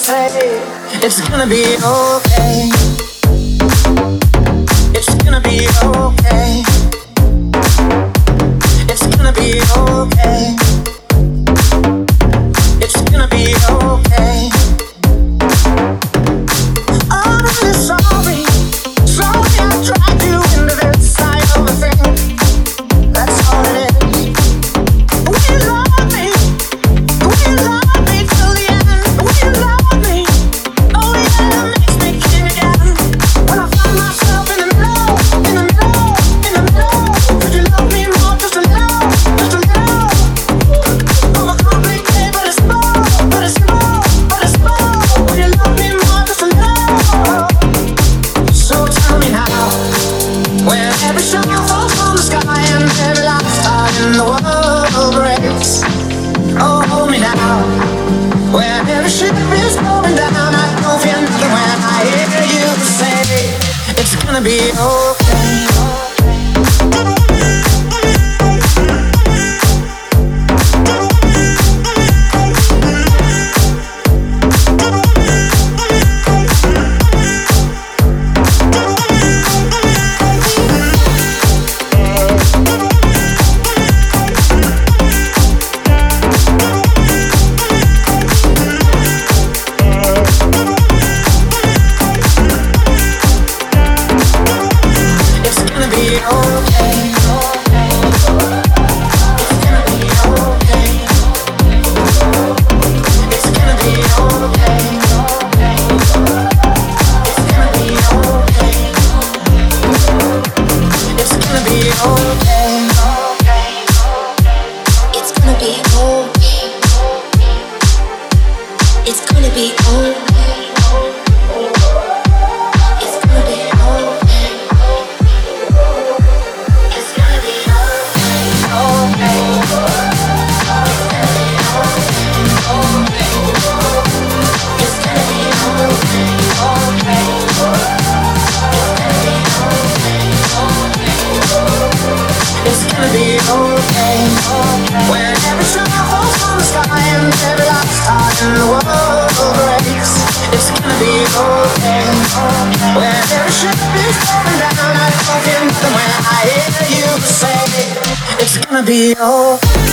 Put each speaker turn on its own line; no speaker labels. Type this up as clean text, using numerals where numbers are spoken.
say it's gonna be okay. It's gonna be okay. It's gonna be okay. It's gonna be okay. I'm really sorry. Sorry I dragged you into this side of a thing. That's all it is. Will you love me? Will you love me till the end? Will you love me? Oh yeah, it makes me king again. When I find myself in the middle, in the middle, in the middle. Could you love me more? Just a little, just a little. Overcomplicate, but it's more, but it's more, but it's more. Will you love me more? Just a little. So tell me now, when every shadow falls from the sky and every last star in the world breaks. Oh, hold me now, when every ship is going down. I don't feel nothing when I hear you say it's gonna be okay. It's gonna be okay.